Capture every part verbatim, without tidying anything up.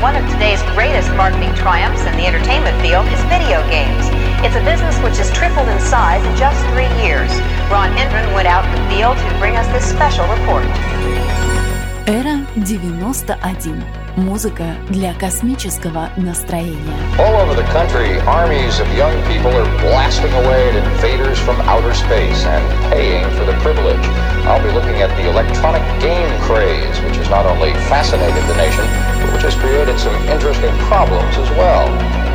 One of today's greatest marketing triumphs in the entertainment field is video games. It's a business which has tripled in size in just three years. Ron Hendren went out in the field to bring us this special report. Эра девяносто один. Музыка для космического настроения. All over the country, armies of young people are blasting away at invaders from outer space and paying for the privilege. I'll be looking at the electronic game craze, which has not only fascinated the nation, but which has created some interesting problems as well.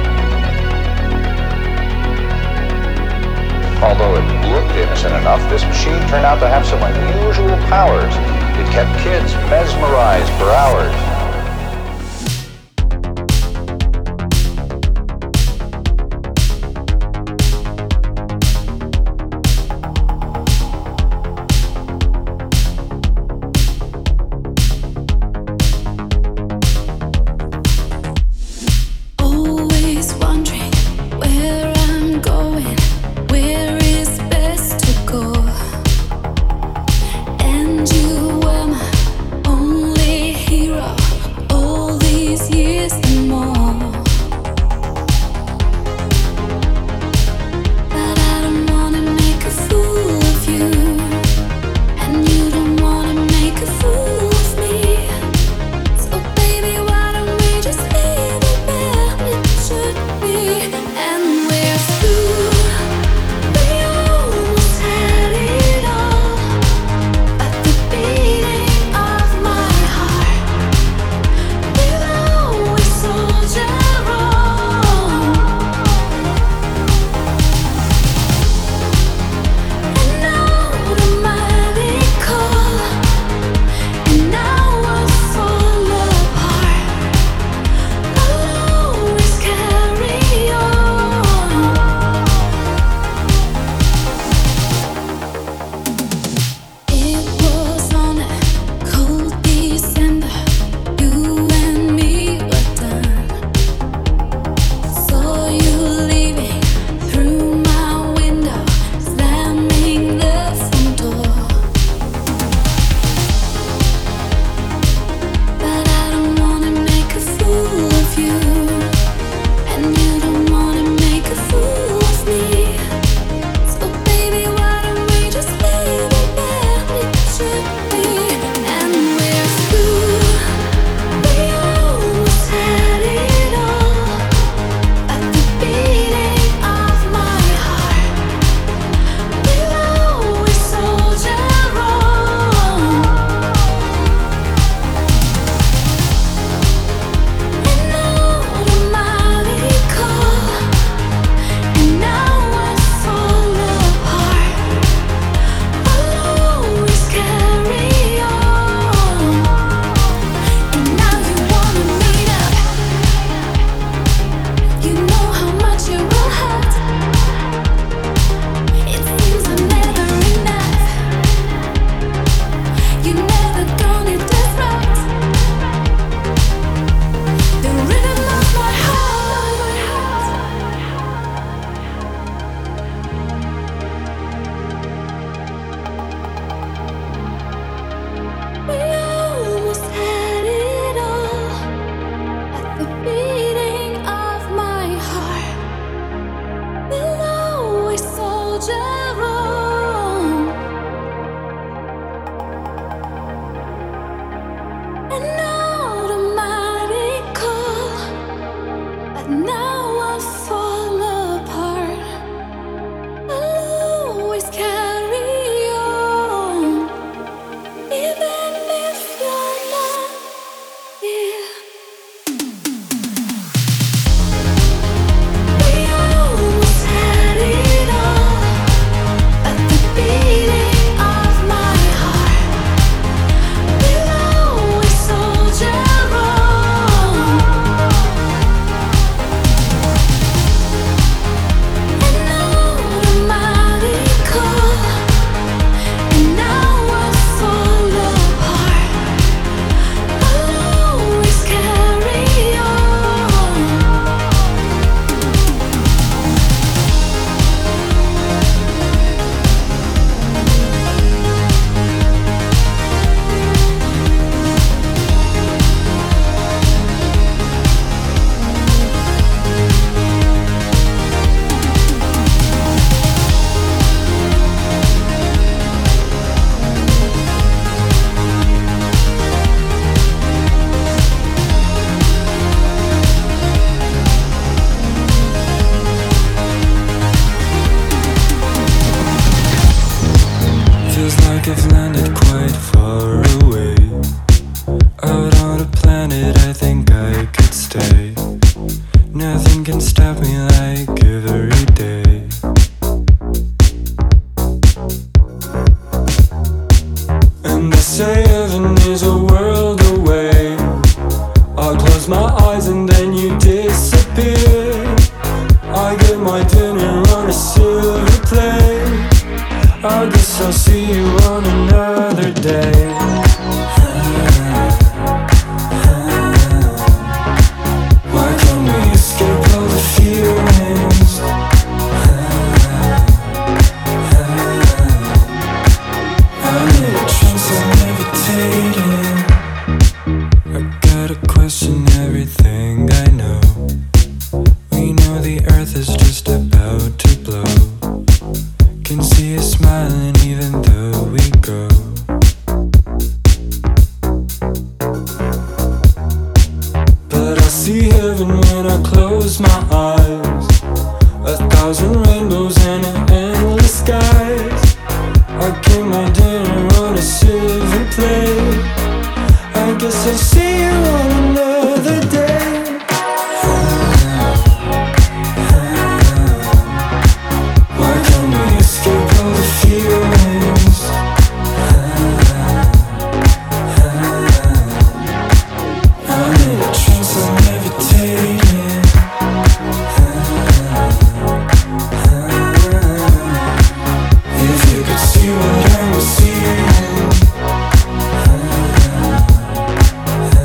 Although it looked innocent enough, this machine turned out to have some unusual powers. It kept kids mesmerized for hours. landed quite far away. Out on a planet I think I could stay. Nothing can stop me like every day. And they say heaven is a world away. I close my eyes and then you disappear. I get my dinner on a silver plate. I guess I'll see you on another day. Why can't we escape all the feelings? I'm in a trance, I'm levitating. I gotta question everything I know. We know the earth is just about to blow. Can see you smiling even though we go. But I see heaven when I close my eyes. A thousand rainbows and an endless skies. I get my dinner on a silver plate. I guess I'll see you on another day. Why can't we escape all the feelings? I'm in a trance, I'm levitating. If you could see what I was seeing.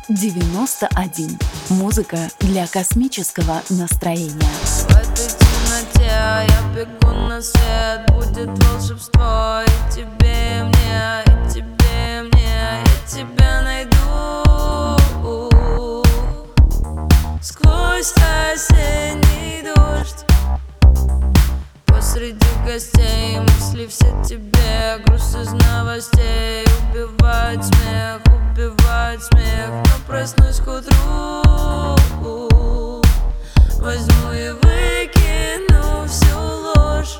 девяносто один. Музыка для космического настроения. В этой темноте я бегу на свет. Будет волшебство и тебе, и мне, и тебе, и мне. Я тебя найду сквозь осенний дождь. Посреди гостей мысли все тебе. Груз из новостей убивает смех, убивает смех. Но проснусь к утру, возьму и выкину всю ложь.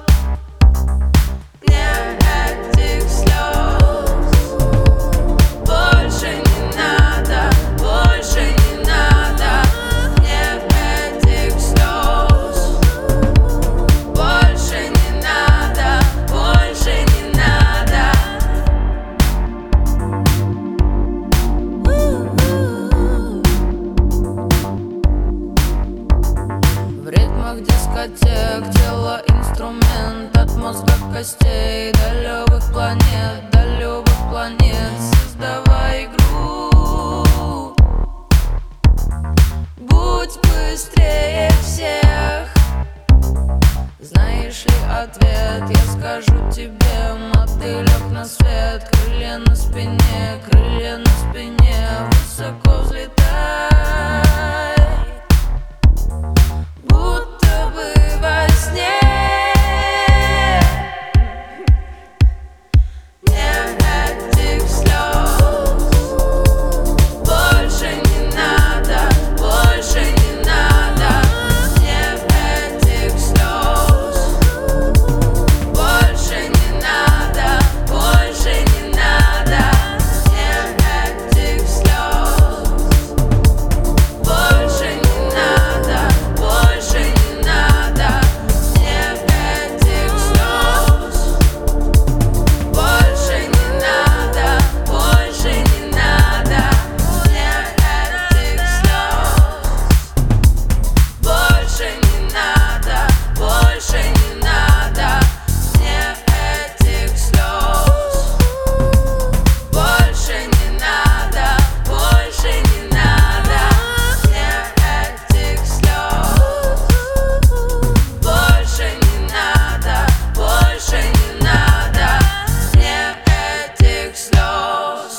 Нет этих слез больше не надо, больше не надо. Нет этих слез больше не надо, больше не надо. В ритмах дискотек тело инструмент. От мозга костей до любых планет, до любых планет. Создавай игру, будь быстрее всех. Знаешь ли ответ? Я скажу тебе, мотылек на свет. Крылья на спине, крылья на спине. Высоко взлетай, будто бы во сне. Нет этих слез больше не надо, больше не надо. Нет этих слез больше не надо, больше не надо. Нет этих слез больше не надо, больше не надо. Нет этих слез больше не надо, больше не надо. Нет этих слез больше не надо, больше не надо. Нет этих слез больше не надо, больше не надо. Нет этих слез больше не надо, больше не надо. Нет этих слез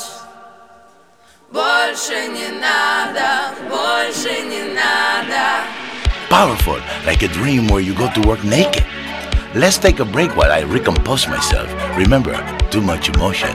больше не надо, больше не надо. Powerful, like a dream where you go to work naked. Let's take a break while I recompose myself. Remember, too much emotion.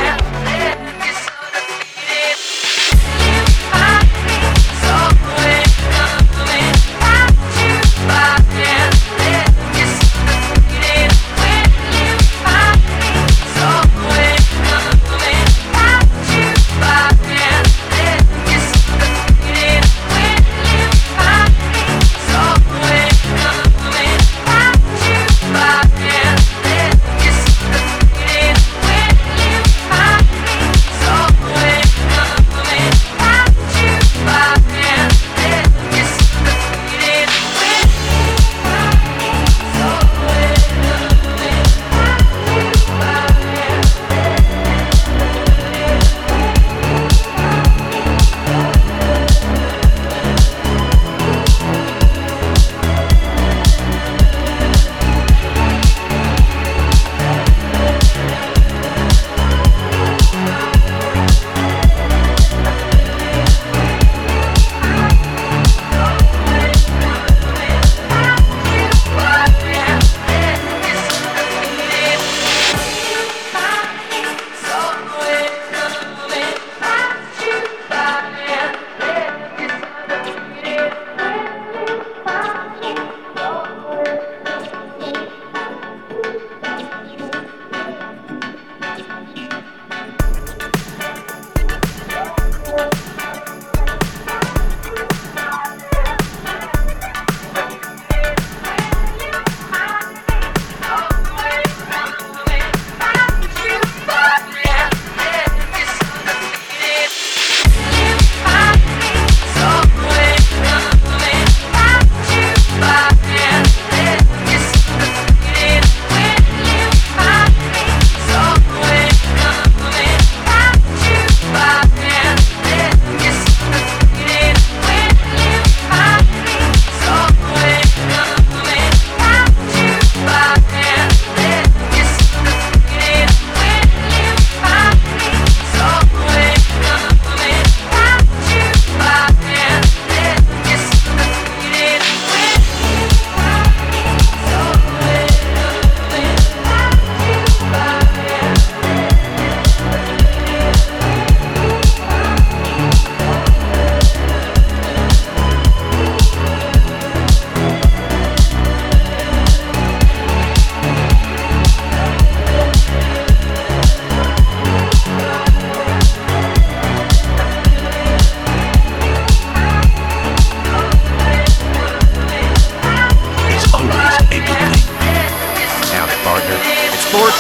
So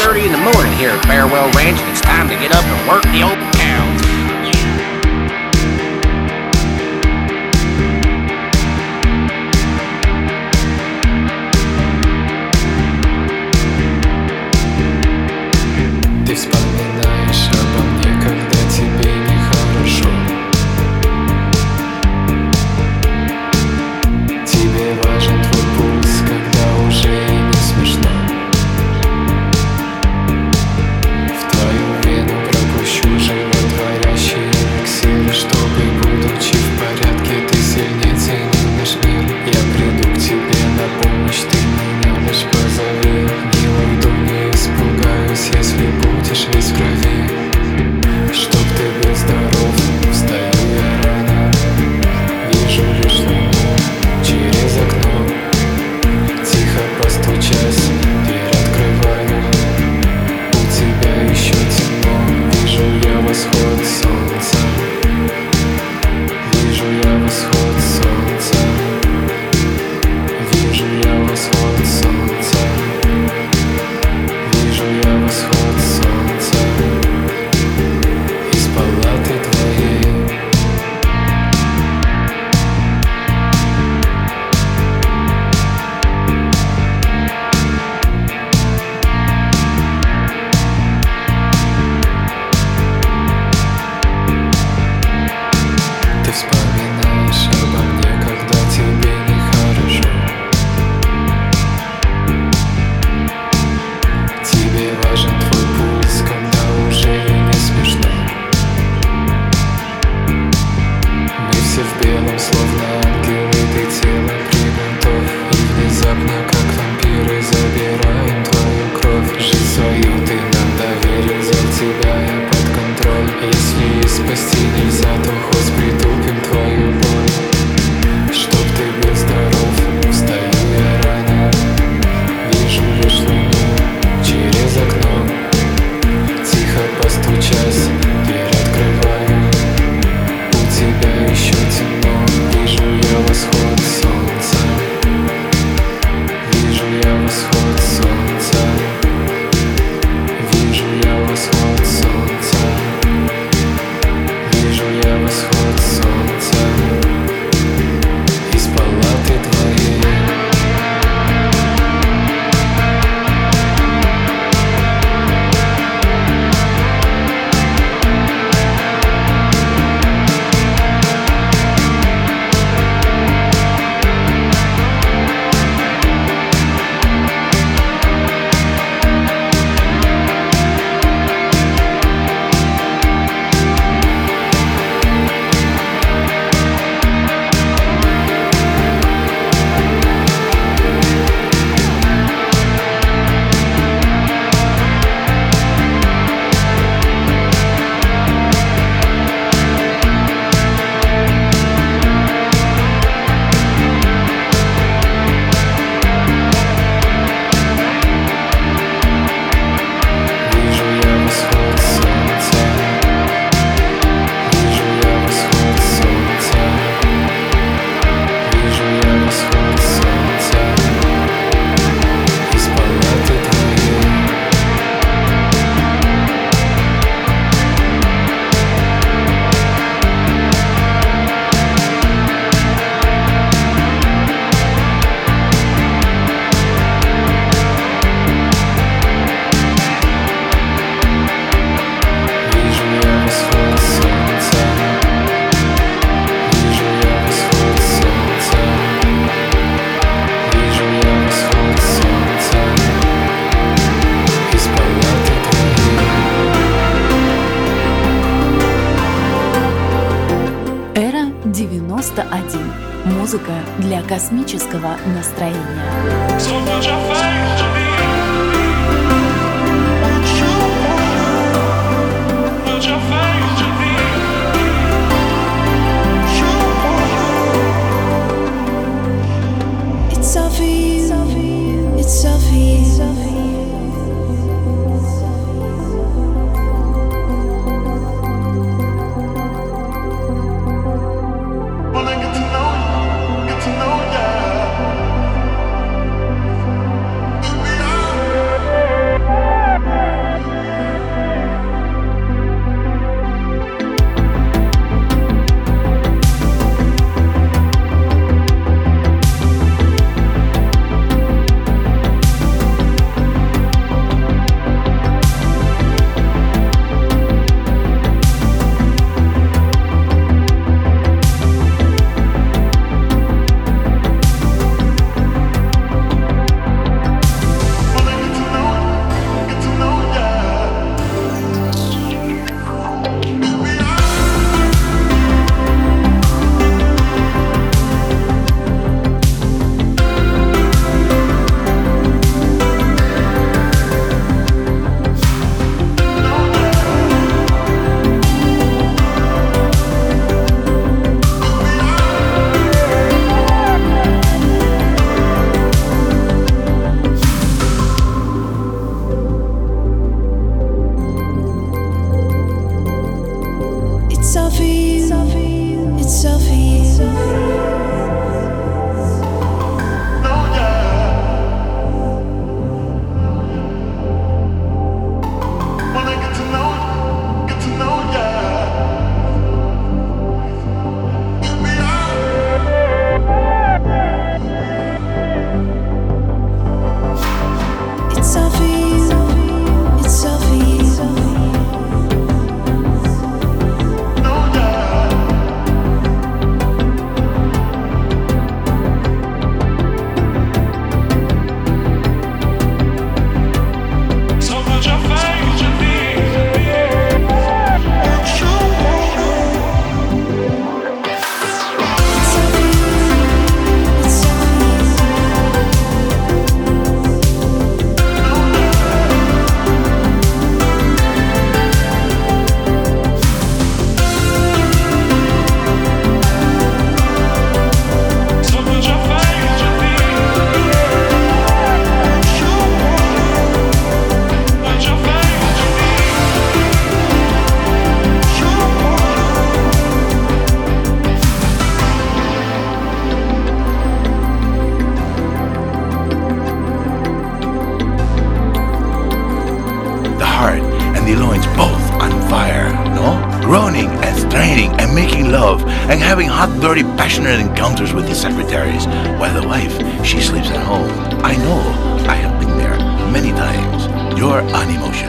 thirty in the morning here at Farewell Ranch, and it's time to get up and work the old cows. Ты вспоминаешь обо мне, когда тебе нехорошо. Тебе важен твой пульс, когда уже и не смешно. В твою вену пропущу животворящий эликсир, чтобы, будучи в порядке, ты сильнее ценил наш мир. Я приду к тебе на помощь, ты меня лишь позови. Не уйду, не испугаюсь, если будешь весь в крови. Чтоб ты был здоров, встаю я рано, вижу лишь луну через окно. Тихо постучась, дверь открываю. У тебя еще темно, вижу я восход солнца. Вижу я восход солнца. Вижу я восход солнца. Вижу я восход солнца из палаты твоей. Ты вспоминаешь обо мне, когда тебе нехорошо. Тебе важен твой пульс, когда уже и не смешно. Мы все в белом, словно ангелы, ты тело приготовь. И внезапно, как вампиры, забираем твою кровь. Жизнь свою ты нам доверил, взял тебя я под контроль. Если и спасти нельзя, то хоть притупим твою боль. Чтоб ты был здоров, встаю я рано, вижу лишь луну через окно. Тихо постучась, дверь открываю. У тебя еще темно, вижу я восход солнца. Вижу я восход солнца. Вижу я восход солнца. Вижу я восход солнца из палаты твоей. Вижу я восход солнца. Вижу я восход солнца. Вижу я восход солнца из палаты твоей. Вижу я восход солнца. Вижу я восход солнца. Вижу я восход солнца из палаты твоей. Эра девяносто один. Музыка для космического настроения. It's all for you, it's all for you. Wanna get to know you, get to know ya. In the and having hot, dirty, passionate encounters with his secretaries, while the wife, she sleeps at home. I know, I have been there many times. You're on Emotion.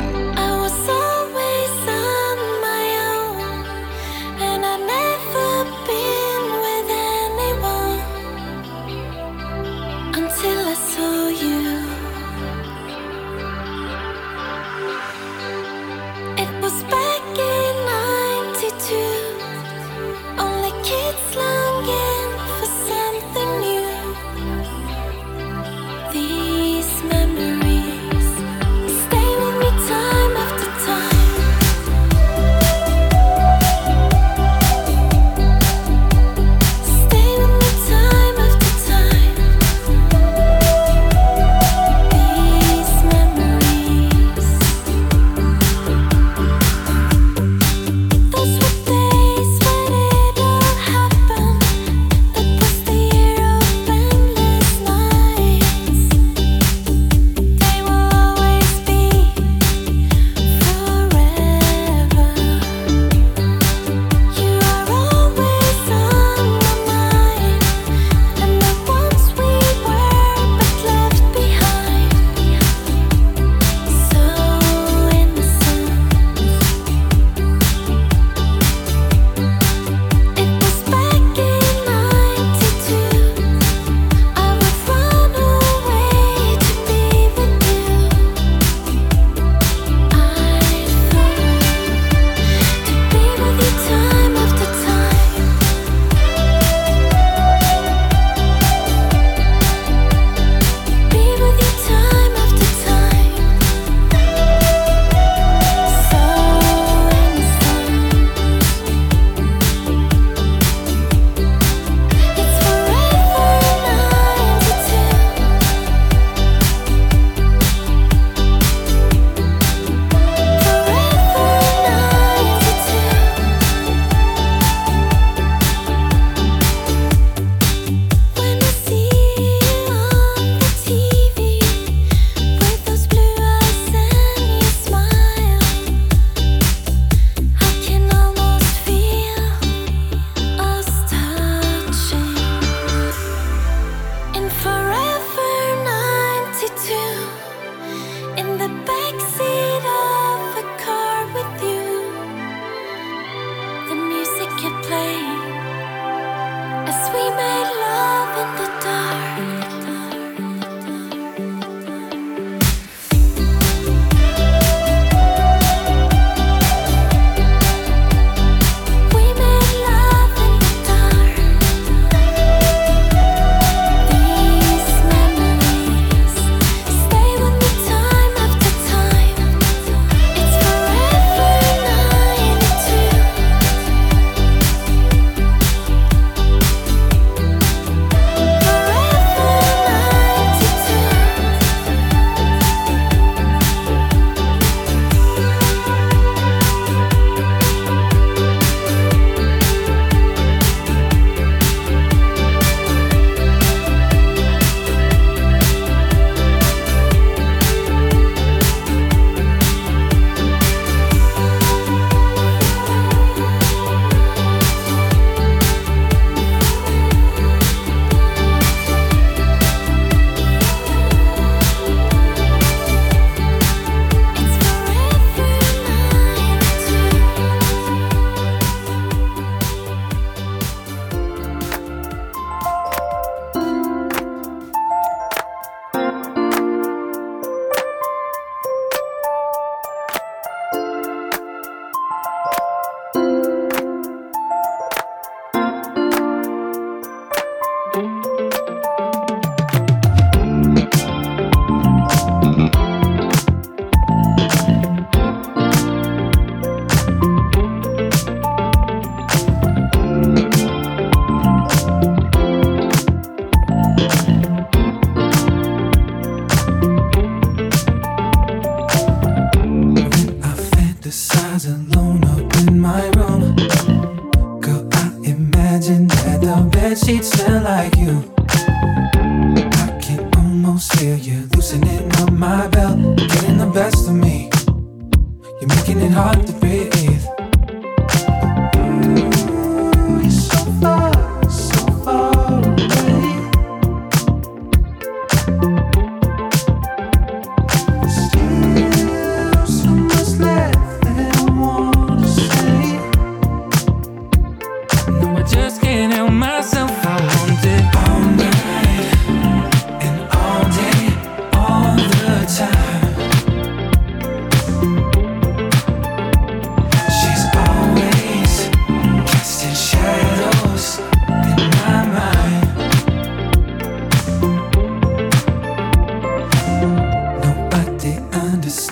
You're making it hard to breathe. Ooh, you're so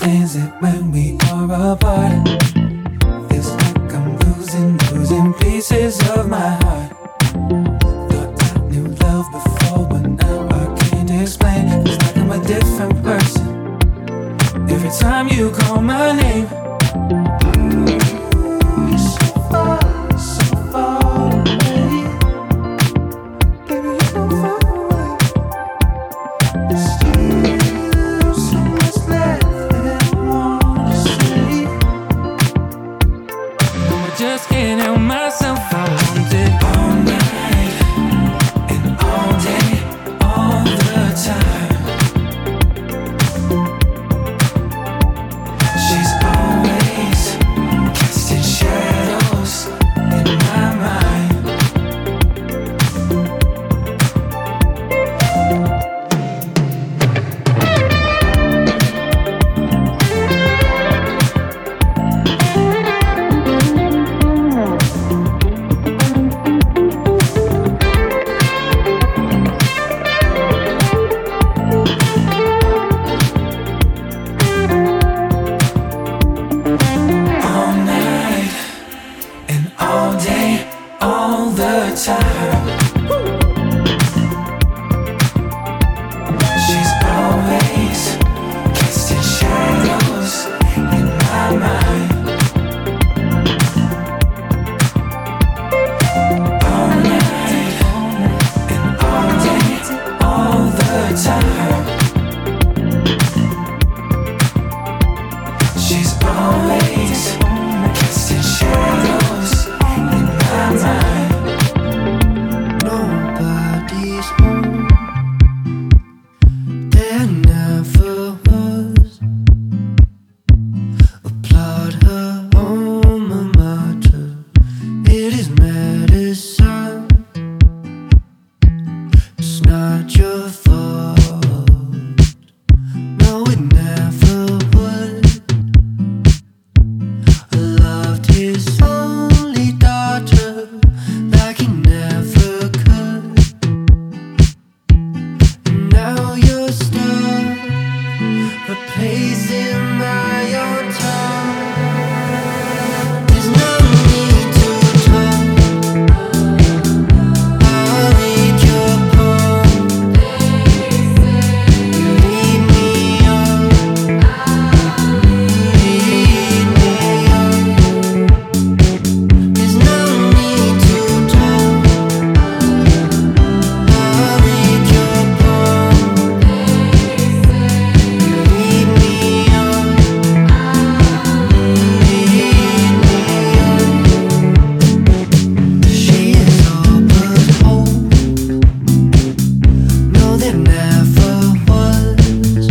understands that when we are apart, feels like I'm losing, losing pieces of my heart. Thought I knew love before, but now I can't explain. Feels like I'm a different person every time you call my name. So far, so far away. Baby, you're so far away. There's still so much left that I wanna say. No, I just can't help myself. I want it all night and all day, all the time. She's always casting shadows in my mind. All night and all day, all the time. She's always casting shadows in my mind. All night and all day, all the time. She's always casting shadows in my mind. Nobody's home. There never was. Applaud her alma mater. It is medicine. It's not your fault. No, it never would. I loved his only daughter like he never could. And now you're stuck, replacing my own tongue. There's no need to talk. I'll read your poem. You lead me on, lead me on. There's no need to talk. I'll read your poem. You lead me on, lead me on. She is all but whole. No, there never was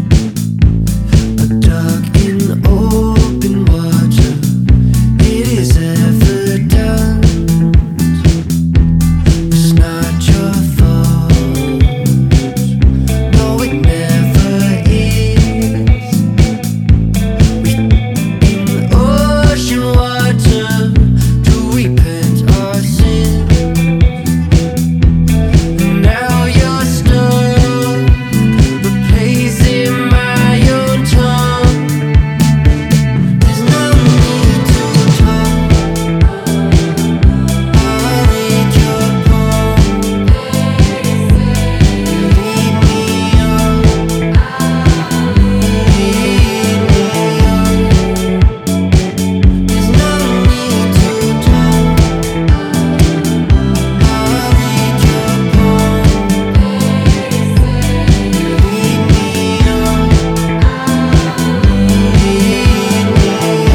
a duck in open water. It is evident. It's not your fault. No, it never is. We in ocean water to repent our sins. And now you're stuck, replacing my own tongue. There's no need to talk. I'll read your poem. You lead me on, lead me on. There's no need to talk. I'll read your poem. You lead me on, lead me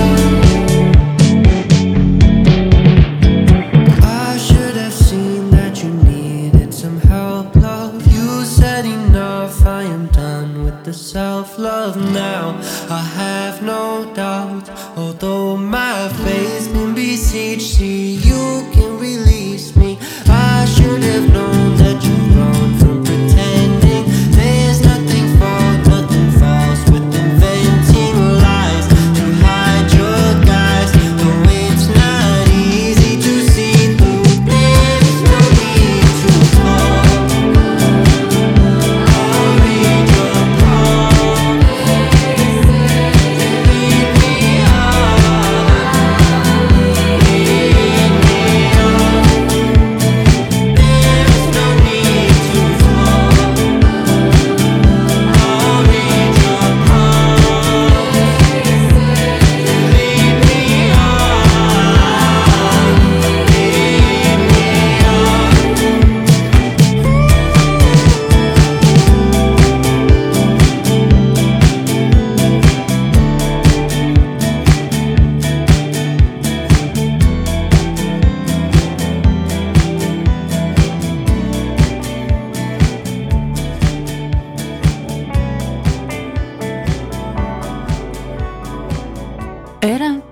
on. I should have seen that you needed some help, love. You said enough, I am done with the self-love now. I have no doubt, although my faith's been besieged, see you can release me. I should have known that you've grown from pretending. There's nothing false, nothing false with inventing lies to hide your guys. Though it's not easy to see through. There's no need to talk. I'll read your poem.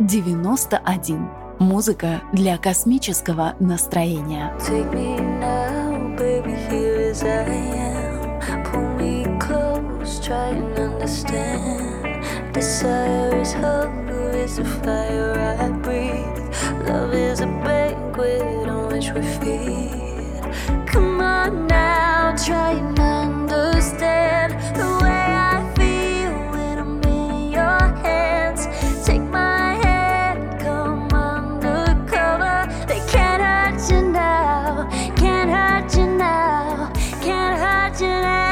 девяносто один. Музыка для космического настроения. Take me now, baby, here as I am. Pull me close, try and understand. Desire is hunger, is the fire I breathe. Love is a banquet on which we feed. Come on now, try and understand the way I feel when I'm in your hands. Take my hand, come undercover. They can't hurt you now, can't hurt you now, can't hurt you now.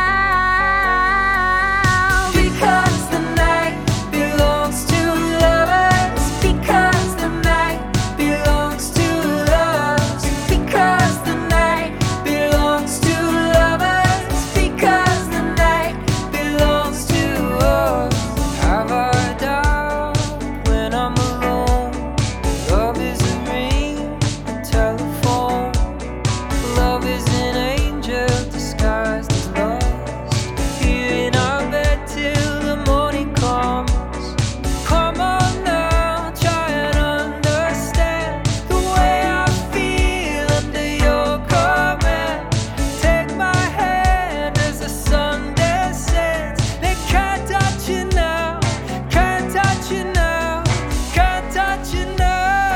Because the night belongs to lovers. Because the night belongs to us. Because the night belongs to lovers. Because the night belongs to us. Have I doubt when I'm alone? Love is a ring, a telephone. Love is an angel disguised as lust. Here in our bed till the morning comes. Come on now, try and understand the way I feel under your command. Take my hand as the sun descends. They can't touch you now, can't touch you now, can't touch you now.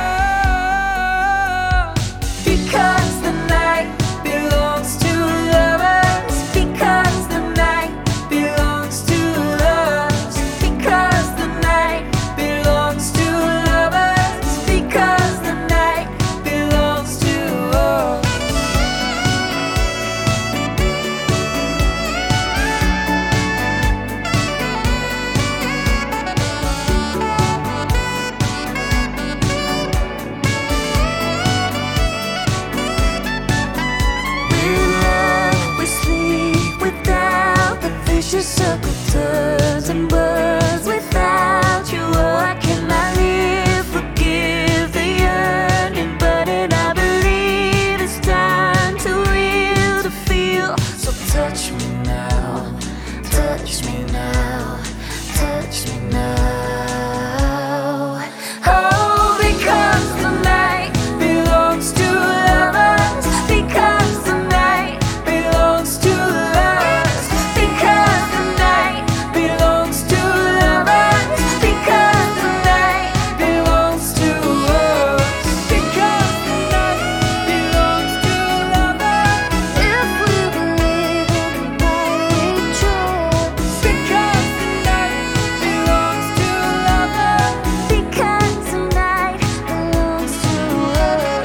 Because the night belongs to lovers. Because the night belongs to us. Because the night belongs to lovers. Because the night belongs to us. With love we sleep, without the vicious circle turns and burns. Without you, oh, I cannot live. Forgive the yearning, burning. I believe it's time to will, to feel. So touch me now, touch me now, touch me now. Oh, because the night belongs to lovers. Because the night belongs to us. Because the night belongs to lovers. Because the night belongs to us. Because the night belongs to lovers. If we believe in the night we trust. Because the night belongs to lovers. Because the night belongs to us.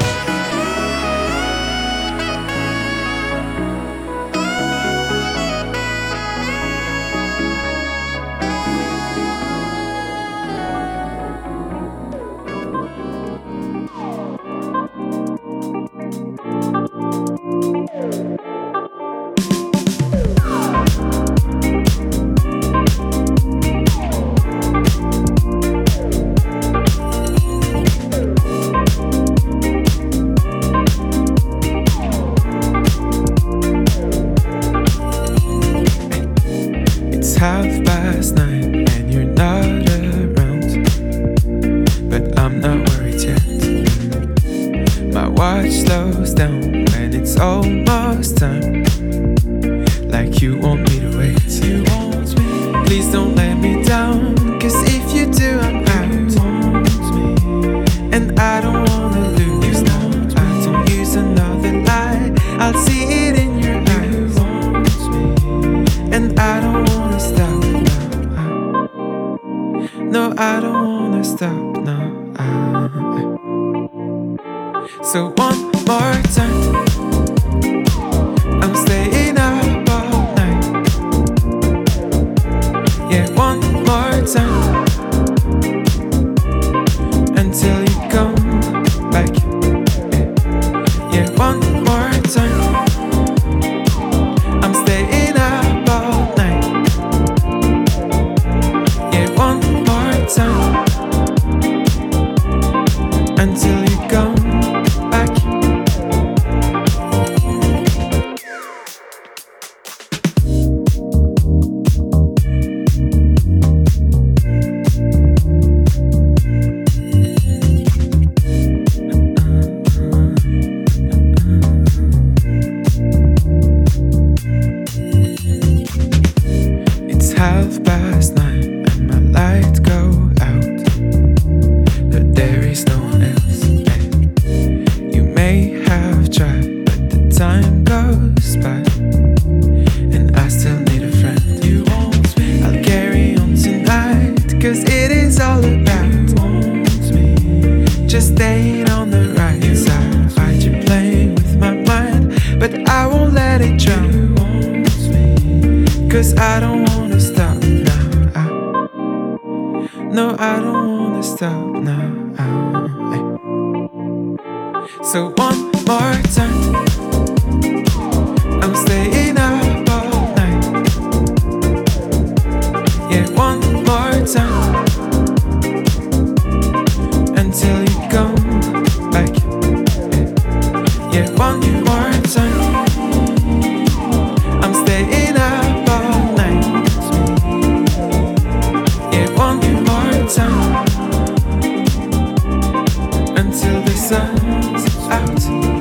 It's half past nine and you're not around, but I'm not worried yet. My watch slows down when it's almost time, like you want me to wait. You want me. Please don't let me down, cause if you do I'm out. And I don't wanna lose now. I don't use another lie, I'll see it in your eyes. And I don't wanna stop now. No, I don't wanna stop now. So one more time, I'm staying up all night. Yeah, one more time, until you come back. Yeah, one more time, I'm staying up all night. Yeah, one more time, until you come back. 'cause I don't wanna stop now. I, no, I don't wanna stop now. I, so one more time, I'm staying up all night. Yeah, one more time, until you come back. Yeah, one more time, I'm staying up all night. Yeah, one more time, until the sun's out.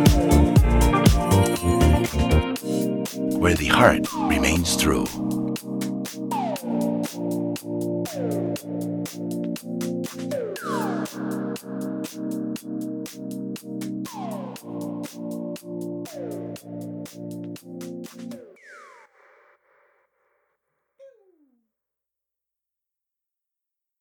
Where the heart remains true.